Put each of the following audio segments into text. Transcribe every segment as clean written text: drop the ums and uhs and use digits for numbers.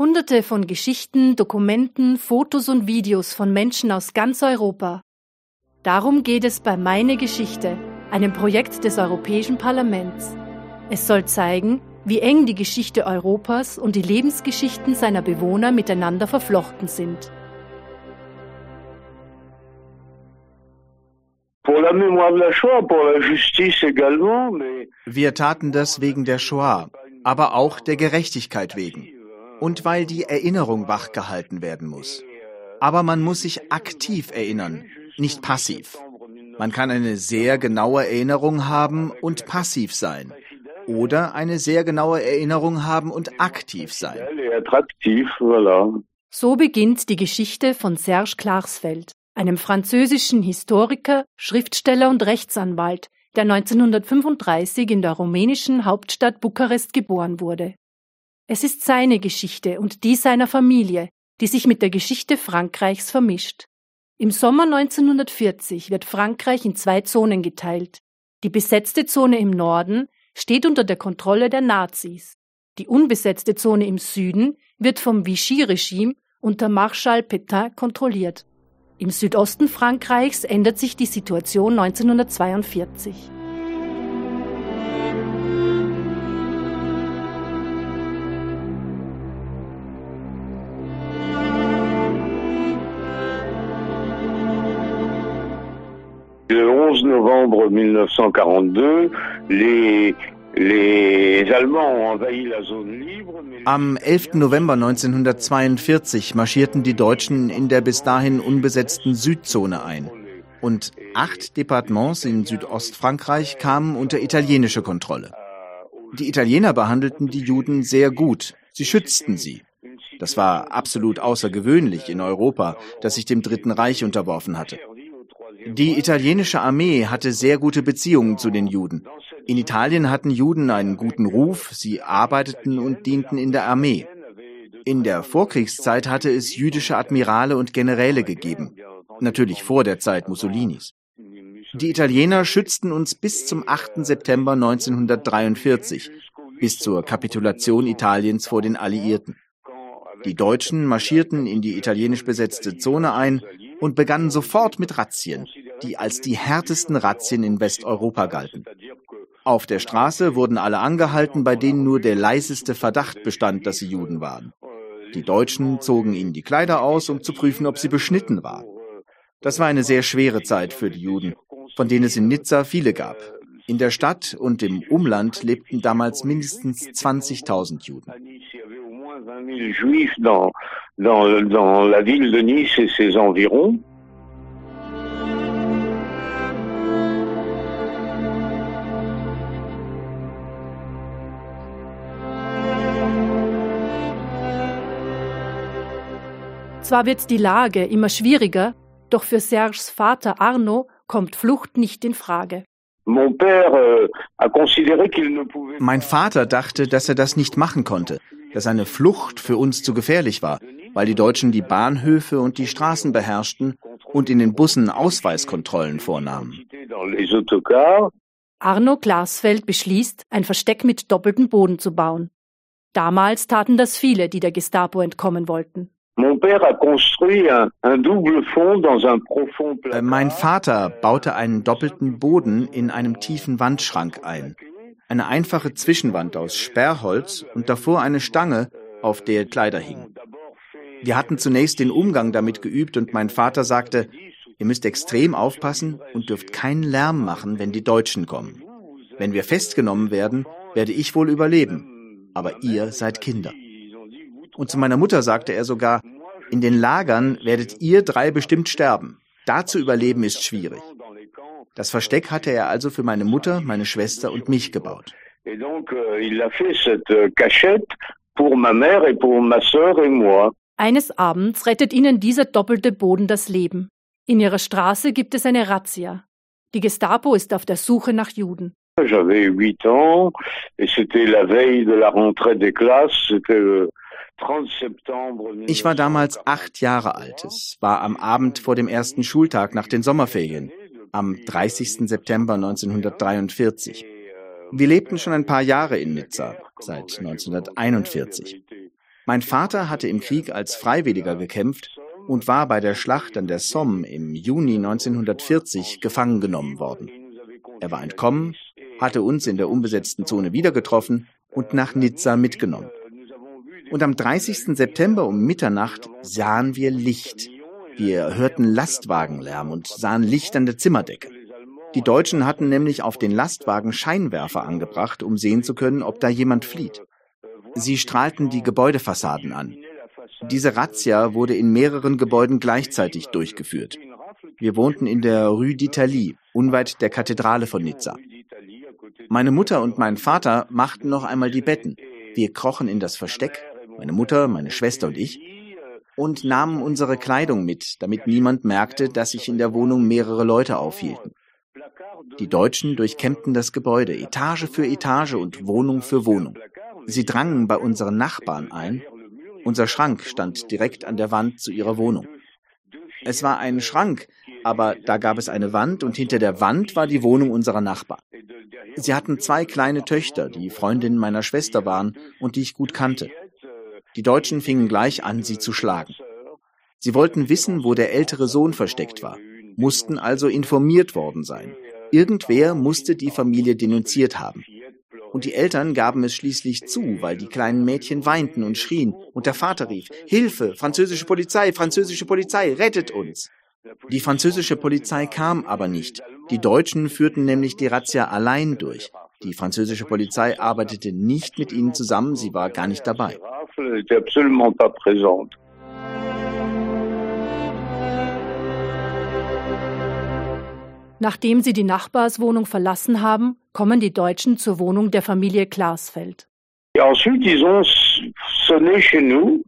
Hunderte von Geschichten, Dokumenten, Fotos und Videos von Menschen aus ganz Europa. Darum geht es bei Meine Geschichte, einem Projekt des Europäischen Parlaments. Es soll zeigen, wie eng die Geschichte Europas und die Lebensgeschichten seiner Bewohner miteinander verflochten sind. Wir taten das wegen der Shoah, aber auch der Gerechtigkeit wegen und weil die Erinnerung wachgehalten werden muss. Aber man muss sich aktiv erinnern, nicht passiv. Man kann eine sehr genaue Erinnerung haben und passiv sein. Oder eine sehr genaue Erinnerung haben und aktiv sein. So beginnt die Geschichte von Serge Klarsfeld, einem französischen Historiker, Schriftsteller und Rechtsanwalt, der 1935 in der rumänischen Hauptstadt Bukarest geboren wurde. Es ist seine Geschichte und die seiner Familie, die sich mit der Geschichte Frankreichs vermischt. Im Sommer 1940 wird Frankreich in 2 Zonen geteilt. Die besetzte Zone im Norden steht unter der Kontrolle der Nazis. Die unbesetzte Zone im Süden wird vom Vichy-Regime unter Marschall Pétain kontrolliert. Im Südosten Frankreichs ändert sich die Situation 1942. Le 11 novembre 1942, les Allemands ont envahi la zone libre. Am 11. November 1942 marschierten die Deutschen in der bis dahin unbesetzten Südzone ein. Und 8 Departements in Südostfrankreich kamen unter italienische Kontrolle. Die Italiener behandelten die Juden sehr gut. Sie schützten sie. Das war absolut außergewöhnlich in Europa, das sich dem Dritten Reich unterworfen hatte. Die italienische Armee hatte sehr gute Beziehungen zu den Juden. In Italien hatten Juden einen guten Ruf, sie arbeiteten und dienten in der Armee. In der Vorkriegszeit hatte es jüdische Admirale und Generäle gegeben, natürlich vor der Zeit Mussolinis. Die Italiener schützten uns bis zum 8. September 1943, bis zur Kapitulation Italiens vor den Alliierten. Die Deutschen marschierten in die italienisch besetzte Zone ein und begannen sofort mit Razzien, die als die härtesten Razzien in Westeuropa galten. Auf der Straße wurden alle angehalten, bei denen nur der leiseste Verdacht bestand, dass sie Juden waren. Die Deutschen zogen ihnen die Kleider aus, um zu prüfen, ob sie beschnitten waren. Das war eine sehr schwere Zeit für die Juden, von denen es in Nizza viele gab. In der Stadt und im Umland lebten damals mindestens 20.000 Juden. 20.000 Juifs dans la ville de Nice et ses environs. Zwar wird die Lage immer schwieriger, doch für Serges Vater Arno kommt Flucht nicht in Frage. Mein Vater dachte, dass er das nicht machen konnte, dass eine Flucht für uns zu gefährlich war, weil die Deutschen die Bahnhöfe und die Straßen beherrschten und in den Bussen Ausweiskontrollen vornahmen. Arno Klarsfeld beschließt, ein Versteck mit doppeltem Boden zu bauen. Damals taten das viele, die der Gestapo entkommen wollten. Mein Vater baute einen doppelten Boden in einem tiefen Wandschrank ein. Eine einfache Zwischenwand aus Sperrholz und davor eine Stange, auf der Kleider hingen. Wir hatten zunächst den Umgang damit geübt und mein Vater sagte, ihr müsst extrem aufpassen und dürft keinen Lärm machen, wenn die Deutschen kommen. Wenn wir festgenommen werden, werde ich wohl überleben, aber ihr seid Kinder. Und zu meiner Mutter sagte er sogar, in den Lagern werdet ihr 3 bestimmt sterben. Da zu überleben ist schwierig. Das Versteck hatte er also für meine Mutter, meine Schwester und mich gebaut. Eines Abends rettet ihnen dieser doppelte Boden das Leben. In ihrer Straße gibt es eine Razzia. Die Gestapo ist auf der Suche nach Juden. J'avais 8 ans et c'était la veille de la rentrée des classes, c'était le 30 septembre. Ich war damals 8 Jahre alt. Es war am Abend vor dem ersten Schultag nach den Sommerferien, am 30. September 1943. Wir lebten schon ein paar Jahre in Nizza, seit 1941. Mein Vater hatte im Krieg als Freiwilliger gekämpft und war bei der Schlacht an der Somme im Juni 1940 gefangen genommen worden. Er war entkommen, hatte uns in der unbesetzten Zone wieder getroffen und nach Nizza mitgenommen. Und am 30. September um Mitternacht sahen wir Licht. Wir hörten Lastwagenlärm und sahen Licht an der Zimmerdecke. Die Deutschen hatten nämlich auf den Lastwagen Scheinwerfer angebracht, um sehen zu können, ob da jemand flieht. Sie strahlten die Gebäudefassaden an. Diese Razzia wurde in mehreren Gebäuden gleichzeitig durchgeführt. Wir wohnten in der Rue d'Italie, unweit der Kathedrale von Nizza. Meine Mutter und mein Vater machten noch einmal die Betten. Wir krochen in das Versteck, meine Mutter, meine Schwester und ich, und nahmen unsere Kleidung mit, damit niemand merkte, dass sich in der Wohnung mehrere Leute aufhielten. Die Deutschen durchkämmten das Gebäude, Etage für Etage und Wohnung für Wohnung. Sie drangen bei unseren Nachbarn ein. Unser Schrank stand direkt an der Wand zu ihrer Wohnung. Es war ein Schrank, aber da gab es eine Wand und hinter der Wand war die Wohnung unserer Nachbarn. Sie hatten 2 kleine Töchter, die Freundinnen meiner Schwester waren und die ich gut kannte. Die Deutschen fingen gleich an, sie zu schlagen. Sie wollten wissen, wo der ältere Sohn versteckt war, mussten also informiert worden sein. Irgendwer musste die Familie denunziert haben. Und die Eltern gaben es schließlich zu, weil die kleinen Mädchen weinten und schrien. Und der Vater rief, Hilfe, französische Polizei, rettet uns! Die französische Polizei kam aber nicht. Die Deutschen führten nämlich die Razzia allein durch. Die französische Polizei arbeitete nicht mit ihnen zusammen, sie war gar nicht dabei. Nachdem sie die Nachbarswohnung verlassen haben, kommen die Deutschen zur Wohnung der Familie Klarsfeld. Ensuite, ils ont sonné chez nous.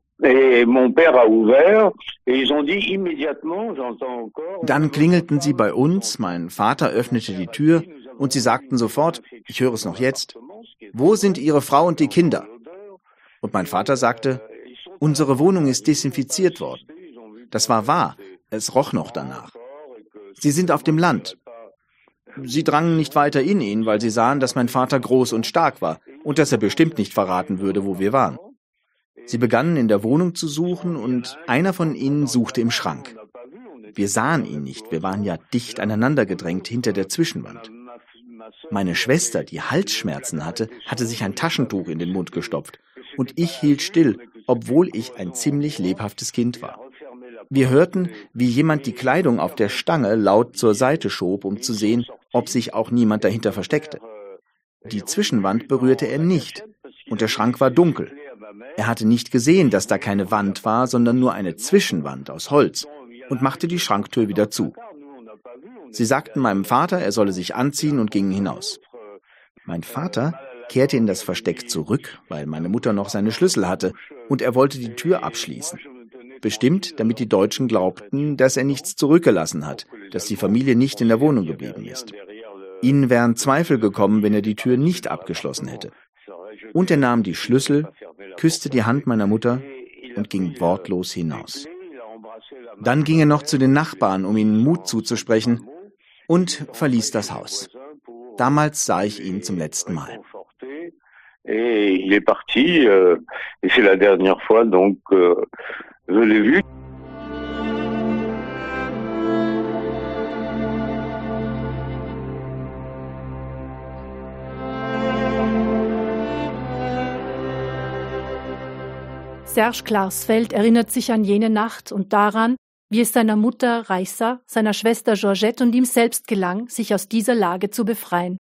Dann klingelten sie bei uns, mein Vater öffnete die Tür und sie sagten sofort, ich höre es noch jetzt, wo sind Ihre Frau und die Kinder? Und mein Vater sagte, unsere Wohnung ist desinfiziert worden. Das war wahr, es roch noch danach. Sie sind auf dem Land. Sie drangen nicht weiter in ihn, weil sie sahen, dass mein Vater groß und stark war und dass er bestimmt nicht verraten würde, wo wir waren. Sie begannen in der Wohnung zu suchen und einer von ihnen suchte im Schrank. Wir sahen ihn nicht, wir waren ja dicht aneinander gedrängt hinter der Zwischenwand. Meine Schwester, die Halsschmerzen hatte, hatte sich ein Taschentuch in den Mund gestopft und ich hielt still, obwohl ich ein ziemlich lebhaftes Kind war. Wir hörten, wie jemand die Kleidung auf der Stange laut zur Seite schob, um zu sehen, ob sich auch niemand dahinter versteckte. Die Zwischenwand berührte er nicht und der Schrank war dunkel. Er hatte nicht gesehen, dass da keine Wand war, sondern nur eine Zwischenwand aus Holz und machte die Schranktür wieder zu. Sie sagten meinem Vater, er solle sich anziehen und gingen hinaus. Mein Vater kehrte in das Versteck zurück, weil meine Mutter noch seine Schlüssel hatte und er wollte die Tür abschließen. Bestimmt, damit die Deutschen glaubten, dass er nichts zurückgelassen hat, dass die Familie nicht in der Wohnung geblieben ist. Ihnen wären Zweifel gekommen, wenn er die Tür nicht abgeschlossen hätte. Und er nahm die Schlüssel, küsste die Hand meiner Mutter und ging wortlos hinaus. Dann ging er noch zu den Nachbarn, um ihnen Mut zuzusprechen, und verließ das Haus. Damals sah ich ihn zum letzten Mal. Et il est parti, et c'est la dernière fois, donc je l'ai vu. Serge Klarsfeld erinnert sich an jene Nacht und daran, wie es seiner Mutter Raissa, seiner Schwester Georgette und ihm selbst gelang, sich aus dieser Lage zu befreien.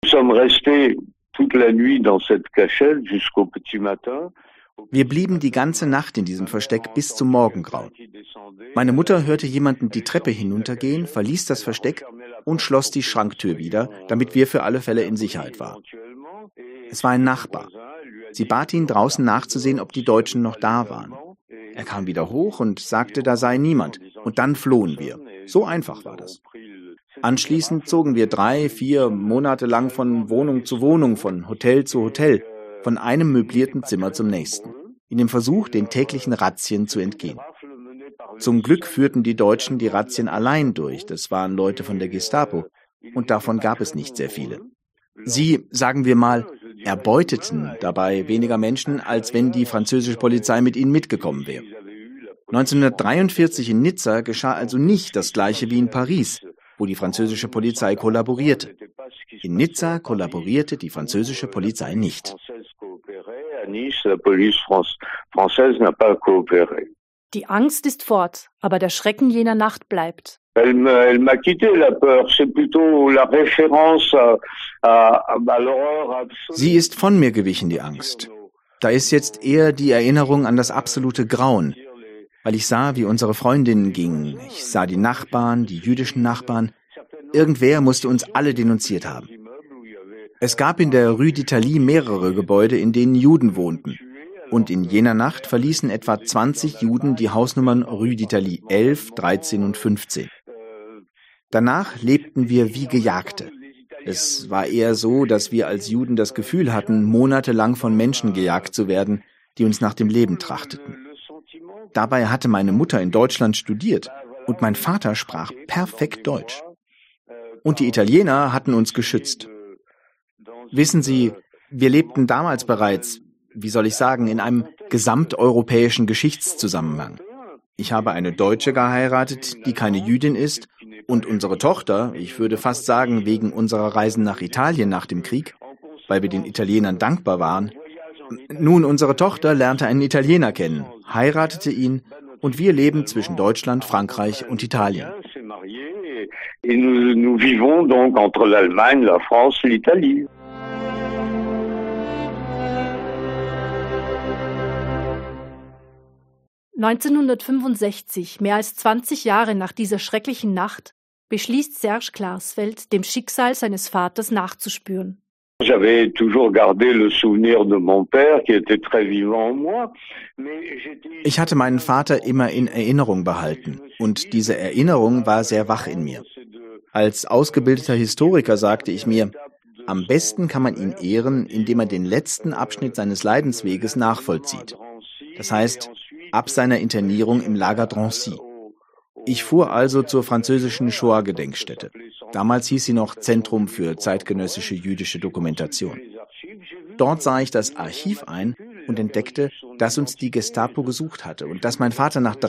Wir blieben die ganze Nacht in diesem Versteck bis zum Morgengrauen. Meine Mutter hörte jemanden die Treppe hinuntergehen, verließ das Versteck und schloss die Schranktür wieder, damit wir für alle Fälle in Sicherheit waren. Es war ein Nachbar. Sie bat ihn, draußen nachzusehen, ob die Deutschen noch da waren. Er kam wieder hoch und sagte, da sei niemand. Und dann flohen wir. So einfach war das. Anschließend zogen wir 3-4 Monate lang von Wohnung zu Wohnung, von Hotel zu Hotel, von einem möblierten Zimmer zum nächsten, in dem Versuch, den täglichen Razzien zu entgehen. Zum Glück führten die Deutschen die Razzien allein durch. Das waren Leute von der Gestapo. Und davon gab es nicht sehr viele. Sie, sagen wir mal, erbeuteten dabei weniger Menschen, als wenn die französische Polizei mit ihnen mitgekommen wäre. 1943 in Nizza geschah also nicht das Gleiche wie in Paris, wo die französische Polizei kollaborierte. In Nizza kollaborierte die französische Polizei nicht. Die Angst ist fort, aber der Schrecken jener Nacht bleibt. Sie ist von mir gewichen, die Angst. Da ist jetzt eher die Erinnerung an das absolute Grauen, weil ich sah, wie unsere Freundinnen gingen. Ich sah die Nachbarn, die jüdischen Nachbarn. Irgendwer musste uns alle denunziert haben. Es gab in der Rue d'Italie mehrere Gebäude, in denen Juden wohnten. Und in jener Nacht verließen etwa 20 Juden die Hausnummern Rue d'Italie 11, 13 und 15. Danach lebten wir wie Gejagte. Es war eher so, dass wir als Juden das Gefühl hatten, monatelang von Menschen gejagt zu werden, die uns nach dem Leben trachteten. Dabei hatte meine Mutter in Deutschland studiert und mein Vater sprach perfekt Deutsch. Und die Italiener hatten uns geschützt. Wissen Sie, wir lebten damals bereits, wie soll ich sagen, in einem gesamteuropäischen Geschichtszusammenhang. Ich habe eine Deutsche geheiratet, die keine Jüdin ist, und unsere Tochter, ich würde fast sagen, wegen unserer Reisen nach Italien nach dem Krieg, weil wir den Italienern dankbar waren. Nun, unsere Tochter lernte einen Italiener kennen, heiratete ihn, und wir leben zwischen Deutschland, Frankreich und Italien. Nous vivons donc entre l'Allemagne, la France, l'Italie. (1965), mehr als 20 Jahre nach dieser schrecklichen Nacht, beschließt Serge Klarsfeld, dem Schicksal seines Vaters nachzuspüren. J'avais toujours gardé le souvenir de mon père qui était très vivant en moi. Ich hatte meinen Vater immer in Erinnerung behalten und diese Erinnerung war sehr wach in mir. Als ausgebildeter Historiker sagte ich mir, am besten kann man ihn ehren, indem er den letzten Abschnitt seines Leidensweges nachvollzieht. Das heißt, ab seiner Internierung im Lager Drancy. Ich fuhr also zur französischen Shoah-Gedenkstätte. Damals hieß sie noch Zentrum für zeitgenössische jüdische Dokumentation. Dort sah ich das Archiv ein und entdeckte, dass uns die Gestapo gesucht hatte und dass mein Vater nach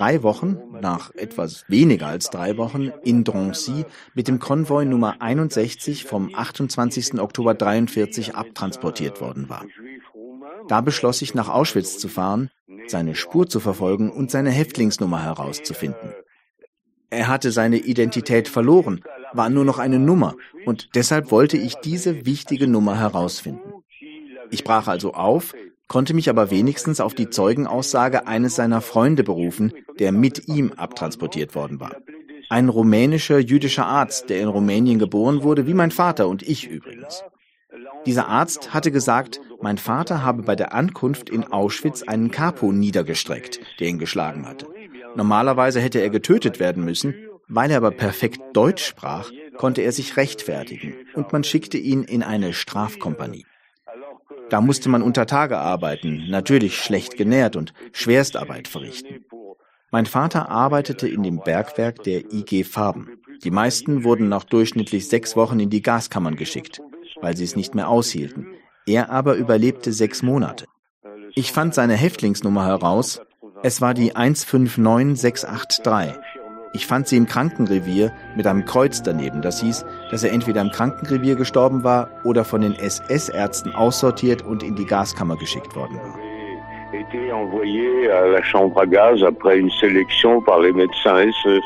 etwas weniger als 3 Wochen, in Drancy mit dem Konvoi Nummer 61 vom 28. Oktober 1943 abtransportiert worden war. Da beschloss ich, nach Auschwitz zu fahren, seine Spur zu verfolgen und seine Häftlingsnummer herauszufinden. Er hatte seine Identität verloren, war nur noch eine Nummer und deshalb wollte ich diese wichtige Nummer herausfinden. Ich brach also auf, konnte mich aber wenigstens auf die Zeugenaussage eines seiner Freunde berufen, der mit ihm abtransportiert worden war. Ein rumänischer jüdischer Arzt, der in Rumänien geboren wurde, wie mein Vater und ich übrigens. Dieser Arzt hatte gesagt, mein Vater habe bei der Ankunft in Auschwitz einen Kapo niedergestreckt, der ihn geschlagen hatte. Normalerweise hätte er getötet werden müssen, weil er aber perfekt Deutsch sprach, konnte er sich rechtfertigen und man schickte ihn in eine Strafkompanie. Da musste man unter Tage arbeiten, natürlich schlecht genährt und Schwerstarbeit verrichten. Mein Vater arbeitete in dem Bergwerk der IG Farben. Die meisten wurden nach durchschnittlich 6 Wochen in die Gaskammern geschickt, weil sie es nicht mehr aushielten. Er aber überlebte 6 Monate. Ich fand seine Häftlingsnummer heraus. Es war die 159683. Ich fand sie im Krankenrevier mit einem Kreuz daneben. Das hieß, dass er entweder im Krankenrevier gestorben war oder von den SS-Ärzten aussortiert und in die Gaskammer geschickt worden war. Été envoyé à la chambre à gaz après une sélection par les médecins SS.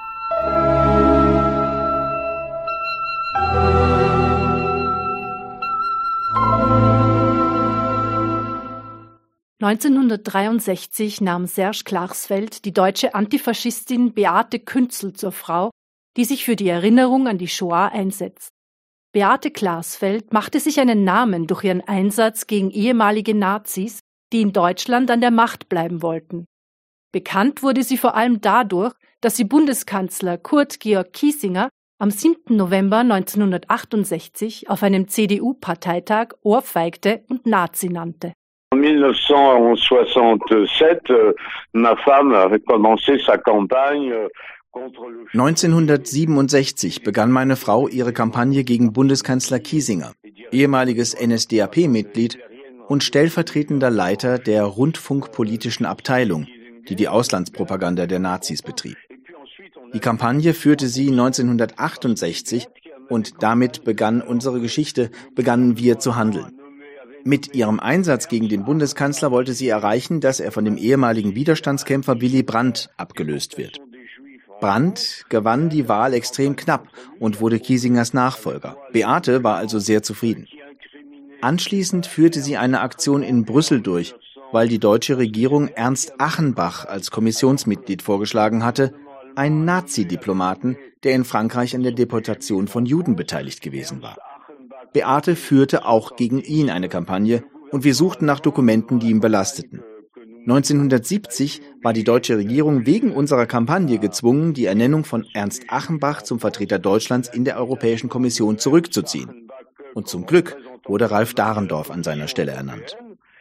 1963 nahm Serge Klarsfeld die deutsche Antifaschistin Beate Künzel zur Frau, die sich für die Erinnerung an die Shoah einsetzt. Beate Klarsfeld machte sich einen Namen durch ihren Einsatz gegen ehemalige Nazis, die in Deutschland an der Macht bleiben wollten. Bekannt wurde sie vor allem dadurch, dass sie Bundeskanzler Kurt Georg Kiesinger am 7. November 1968 auf einem CDU-Parteitag ohrfeigte und Nazi nannte. En 1967, ma femme avait commencé sa campagne 1967 begann meine Frau ihre Kampagne gegen Bundeskanzler Kiesinger, ehemaliges NSDAP-Mitglied und stellvertretender Leiter der rundfunkpolitischen Abteilung, die die Auslandspropaganda der Nazis betrieb. Die Kampagne führte sie 1968 und damit begann unsere Geschichte, begannen wir zu handeln. Mit ihrem Einsatz gegen den Bundeskanzler wollte sie erreichen, dass er von dem ehemaligen Widerstandskämpfer Willy Brandt abgelöst wird. Brandt gewann die Wahl extrem knapp und wurde Kiesingers Nachfolger. Beate war also sehr zufrieden. Anschließend führte sie eine Aktion in Brüssel durch, weil die deutsche Regierung Ernst Achenbach als Kommissionsmitglied vorgeschlagen hatte, einen Nazi-Diplomaten, der in Frankreich an der Deportation von Juden beteiligt gewesen war. Beate führte auch gegen ihn eine Kampagne und wir suchten nach Dokumenten, die ihn belasteten. 1970 war die deutsche Regierung wegen unserer Kampagne gezwungen, die Ernennung von Ernst Achenbach zum Vertreter Deutschlands in der Europäischen Kommission zurückzuziehen. Und zum Glück wurde Ralf Dahrendorf an seiner Stelle ernannt.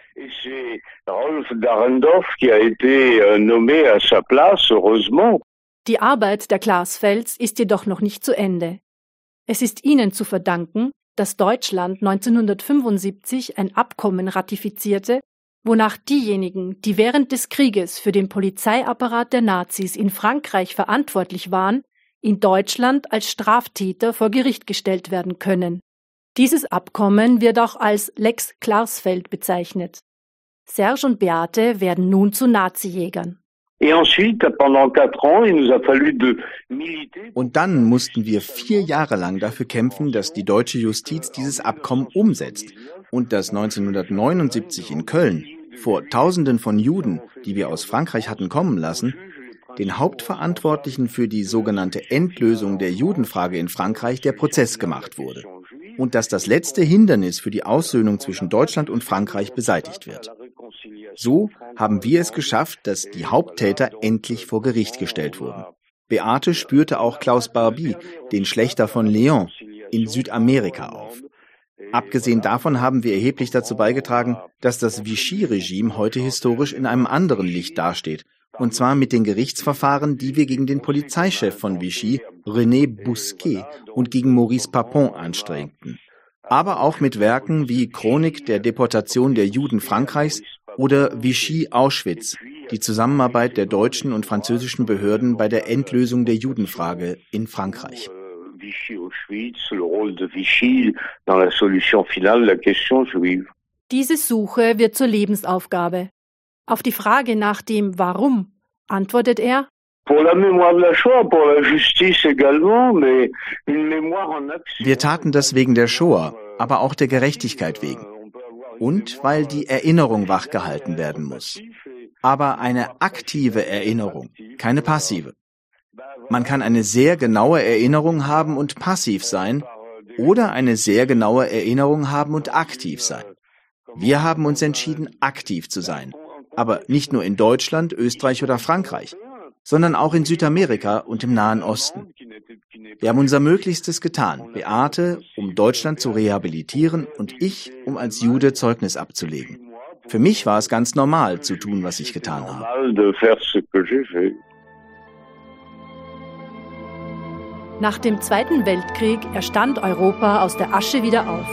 Die Arbeit der Klarsfelds ist jedoch noch nicht zu Ende. Es ist ihnen zu verdanken, dass Deutschland 1975 ein Abkommen ratifizierte, wonach diejenigen, die während des Krieges für den Polizeiapparat der Nazis in Frankreich verantwortlich waren, in Deutschland als Straftäter vor Gericht gestellt werden können. Dieses Abkommen wird auch als Lex Klarsfeld bezeichnet. Serge und Beate werden nun zu Nazijägern. Und dann mussten wir 4 Jahre lang dafür kämpfen, dass die deutsche Justiz dieses Abkommen umsetzt und dass 1979 in Köln vor Tausenden von Juden, die wir aus Frankreich hatten kommen lassen, den Hauptverantwortlichen für die sogenannte Endlösung der Judenfrage in Frankreich der Prozess gemacht wurde und dass das letzte Hindernis für die Aussöhnung zwischen Deutschland und Frankreich beseitigt wird. So haben wir es geschafft, dass die Haupttäter endlich vor Gericht gestellt wurden. Beate spürte auch Klaus Barbie, den Schlächter von Leon, in Südamerika auf. Abgesehen davon haben wir erheblich dazu beigetragen, dass das Vichy-Regime heute historisch in einem anderen Licht dasteht, und zwar mit den Gerichtsverfahren, die wir gegen den Polizeichef von Vichy, René Bousquet, und gegen Maurice Papon anstrengten. Aber auch mit Werken wie Chronik der Deportation der Juden Frankreichs oder Vichy Auschwitz, die Zusammenarbeit der deutschen und französischen Behörden bei der Endlösung der Judenfrage in Frankreich. Diese Suche wird zur Lebensaufgabe. Auf die Frage nach dem Warum antwortet er: Wir taten das wegen der Shoah, aber auch der Gerechtigkeit wegen. Und weil die Erinnerung wachgehalten werden muss. Aber eine aktive Erinnerung, keine passive. Man kann eine sehr genaue Erinnerung haben und passiv sein oder eine sehr genaue Erinnerung haben und aktiv sein. Wir haben uns entschieden, aktiv zu sein. Aber nicht nur in Deutschland, Österreich oder Frankreich, sondern auch in Südamerika und im Nahen Osten. Wir haben unser Möglichstes getan, Beate, um Deutschland zu rehabilitieren und ich, um als Jude Zeugnis abzulegen. Für mich war es ganz normal, zu tun, was ich getan habe. Nach dem Zweiten Weltkrieg erstand Europa aus der Asche wieder auf.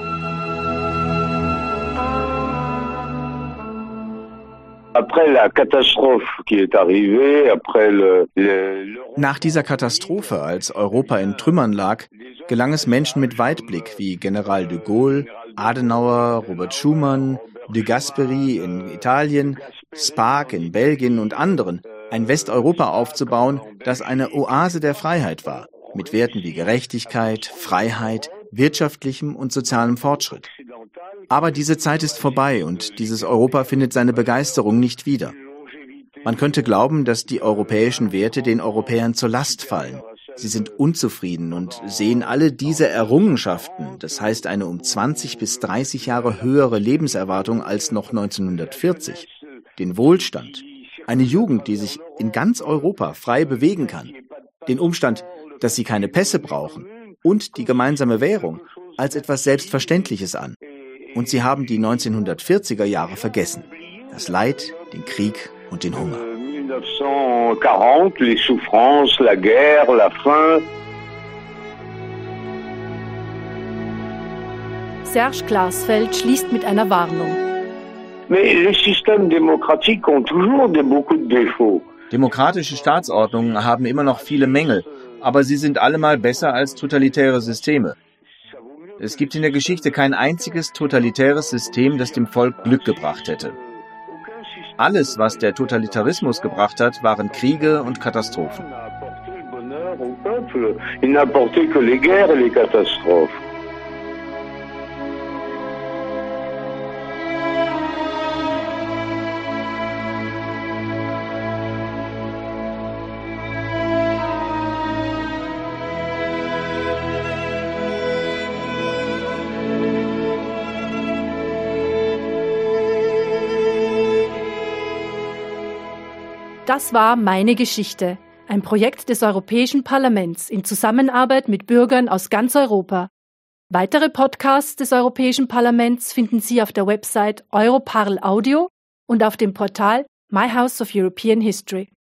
Nach dieser Katastrophe, als Europa in Trümmern lag, gelang es Menschen mit Weitblick wie General de Gaulle, Adenauer, Robert Schuman, de Gasperi in Italien, Spaak in Belgien und anderen, ein Westeuropa aufzubauen, das eine Oase der Freiheit war, mit Werten wie Gerechtigkeit, Freiheit, wirtschaftlichem und sozialem Fortschritt. Aber diese Zeit ist vorbei und dieses Europa findet seine Begeisterung nicht wieder. Man könnte glauben, dass die europäischen Werte den Europäern zur Last fallen. Sie sind unzufrieden und sehen alle diese Errungenschaften, das heißt eine um 20 bis 30 Jahre höhere Lebenserwartung als noch 1940, den Wohlstand, eine Jugend, die sich in ganz Europa frei bewegen kann, den Umstand, dass sie keine Pässe brauchen und die gemeinsame Währung als etwas Selbstverständliches an. Und sie haben die 1940er Jahre vergessen, das Leid, den Krieg und den Hunger. 1940, les souffrances, la guerre, la faim. Serge Klarsfeld schließt mit einer Warnung. Mais les systèmes démocratiques ont toujours beaucoup de défauts. Demokratische Staatsordnungen haben immer noch viele Mängel, aber sie sind allemal besser als totalitäre Systeme. Es gibt in der Geschichte kein einziges totalitäres System, das dem Volk Glück gebracht hätte. Alles, was der Totalitarismus gebracht hat, waren Kriege und Katastrophen. Il n'apportait que les guerres et les catastrophes. Das war Meine Geschichte, ein Projekt des Europäischen Parlaments in Zusammenarbeit mit Bürgern aus ganz Europa. Weitere Podcasts des Europäischen Parlaments finden Sie auf der Website Europarl Audio und auf dem Portal My House of European History.